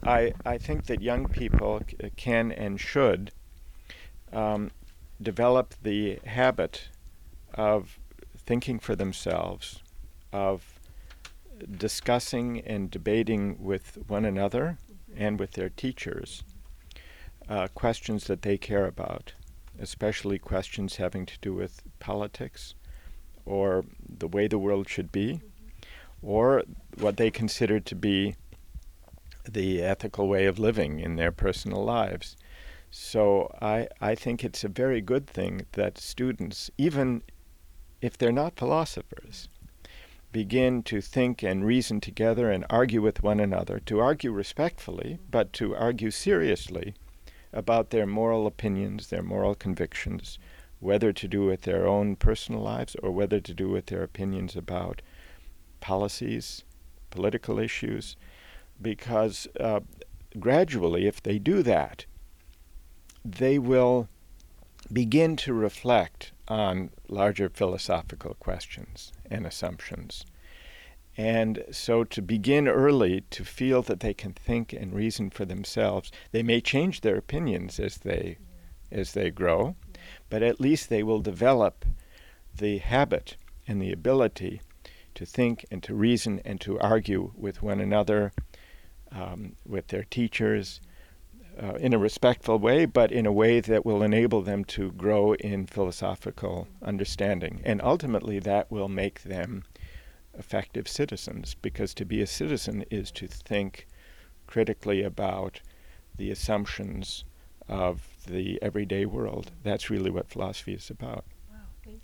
I think that young people can and should um, develop the habit of thinking for themselves, of discussing and debating with one another and with their teachers questions that they care about, especially questions having to do with politics or the way the world should be, or what they consider to be the ethical way of living in their personal lives. So I think it's a very good thing that students, even if they're not philosophers, begin to think and reason together and argue with one another, to argue respectfully, but to argue seriously about their moral opinions, their moral convictions, whether to do with their own personal lives or whether to do with their opinions about policies, political issues, because gradually, if they do that, they will begin to reflect on larger philosophical questions and assumptions. And so to begin early to feel that they can think and reason for themselves, they may change their opinions as they grow, but at least they will develop the habit and the ability to think and to reason and to argue with one another, with their teachers, in a respectful way, but in a way that will enable them to grow in philosophical understanding. And ultimately that will make them effective citizens, because to be a citizen is to think critically about the assumptions of the everyday world. That's really what philosophy is about.